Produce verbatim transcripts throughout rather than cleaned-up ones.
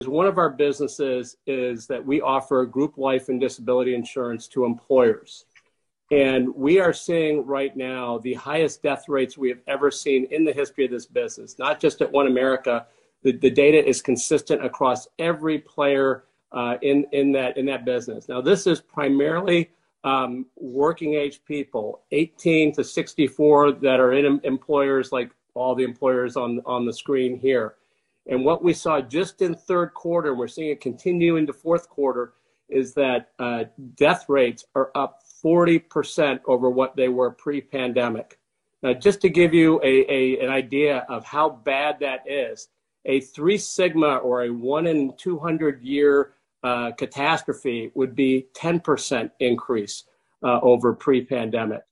One of our businesses is that we offer group life and disability insurance to employers. And we are seeing right now the highest death rates we have ever seen in the history of this business, not just at OneAmerica. The, the data is consistent across every player uh, in, in, that, in that business. Now, this is primarily um, working age people, eighteen to sixty-four, that are in employers like all the employers on, on the screen here. And what we saw just in third quarter, and we're seeing it continue into fourth quarter, is that uh, death rates are up forty percent over what they were pre-pandemic. Now, just to give you a, a, an idea of how bad that is, a three sigma or a one in two hundred year uh, catastrophe would be ten percent increase uh, over pre-pandemic.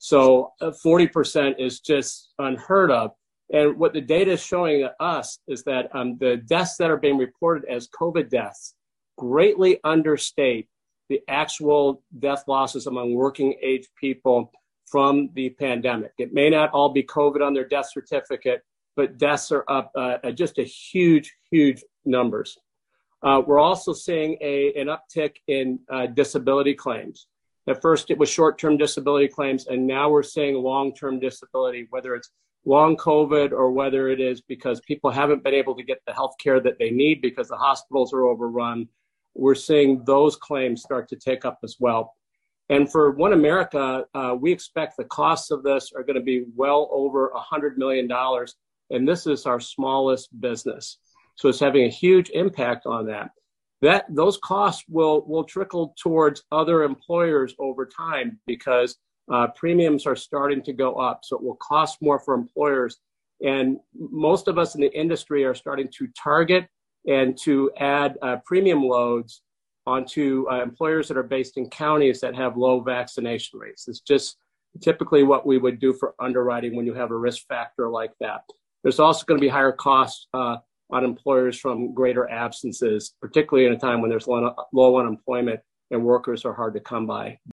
So uh, forty percent is just unheard of. And what the data is showing us is that um, the deaths that are being reported as COVID deaths greatly understate the actual death losses among working age people from the pandemic. It may not all be COVID on their death certificate, but deaths are up uh, at just a huge, huge numbers. Uh, we're also seeing a, an uptick in uh, disability claims. At first, it was short-term disability claims, and now we're seeing long-term disability, whether it's long COVID or whether it is because people haven't been able to get the health care that they need because the hospitals are overrun. We're seeing those claims start to take up as well. And for OneAmerica, uh, we expect the costs of this are going to be well over one hundred million dollars. And this is our smallest business. So it's having a huge impact on that. That those costs will, will trickle towards other employers over time because uh, premiums are starting to go up. So it will cost more for employers. And most of us in the industry are starting to target and to add uh, premium loads onto uh, employers that are based in counties that have low vaccination rates. It's just typically what we would do for underwriting when you have a risk factor like that. There's also going to be higher costs uh, on employers from greater absences, particularly in a time when there's low, low unemployment and workers are hard to come by.